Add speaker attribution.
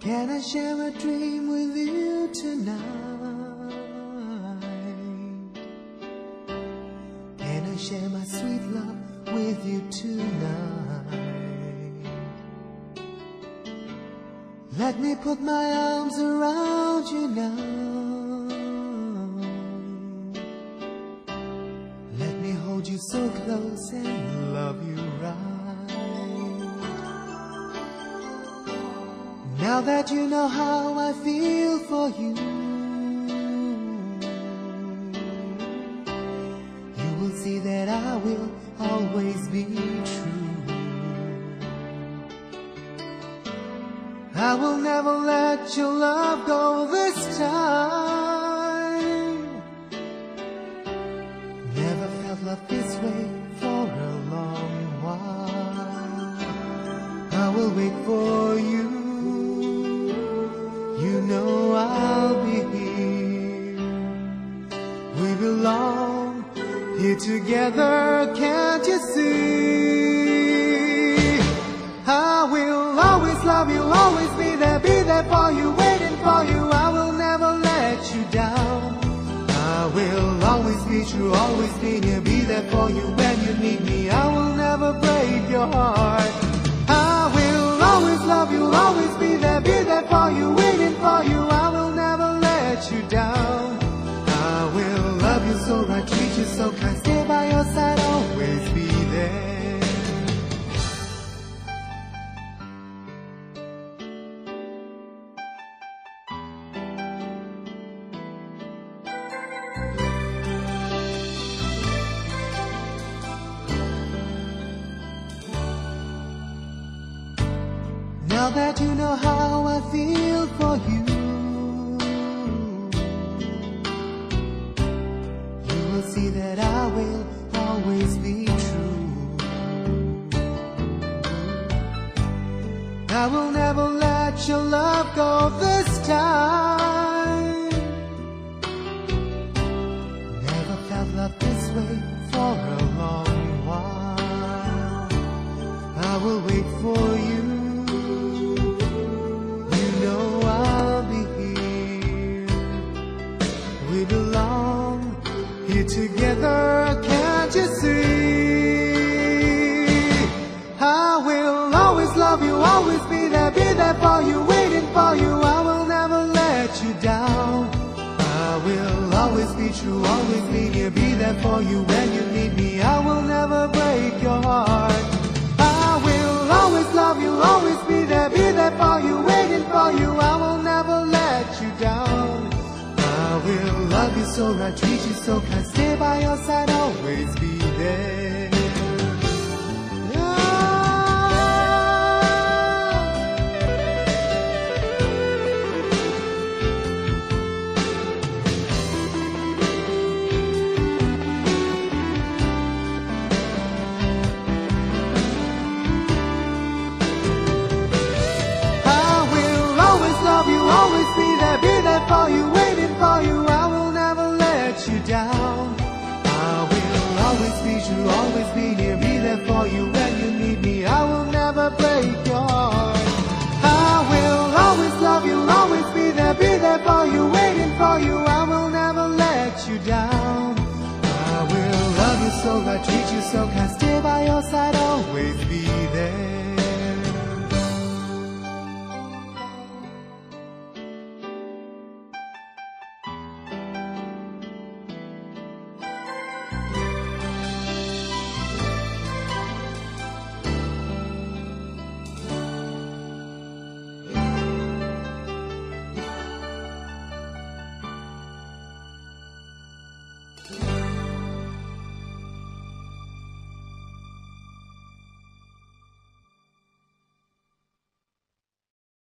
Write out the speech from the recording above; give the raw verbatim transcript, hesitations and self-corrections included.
Speaker 1: Can I share a dream with you tonight? Can I share my sweet love with you tonight? Let me put my arms around you now. Let me hold you so close and love you right. Now that you know how I feel for you, you will see that I will always be true. I will never let your love go this time. Never felt love this way for a long while. I will wait for you. You know I'll be here. We belong here together, can't you see? I will always love you, always be there, be there for you, waiting for you. I will never let you down. I will always be true, always be near, be there for you when you need me. I will never break your heart. I will always love you, always be there, be there for you, waiting for you. I will never let you down. I will love you so right, treat you so kind, stay by your side, always be there. Now that you know how I feel for you, you will see that I will always be true. I will never let your love go this time. Never felt love this way for a long while. I will wait for you. We belong here together, can't you see? I will always love you, always be there, be there for you, waiting for you. I will never let you down. I will always be true, always be near, be there for you when you need me. I will never break your heart. I will always love you, always be there, be there for you, waiting for you. I will never let you down. I will love you so right, treat you so kind, stay by your side, always be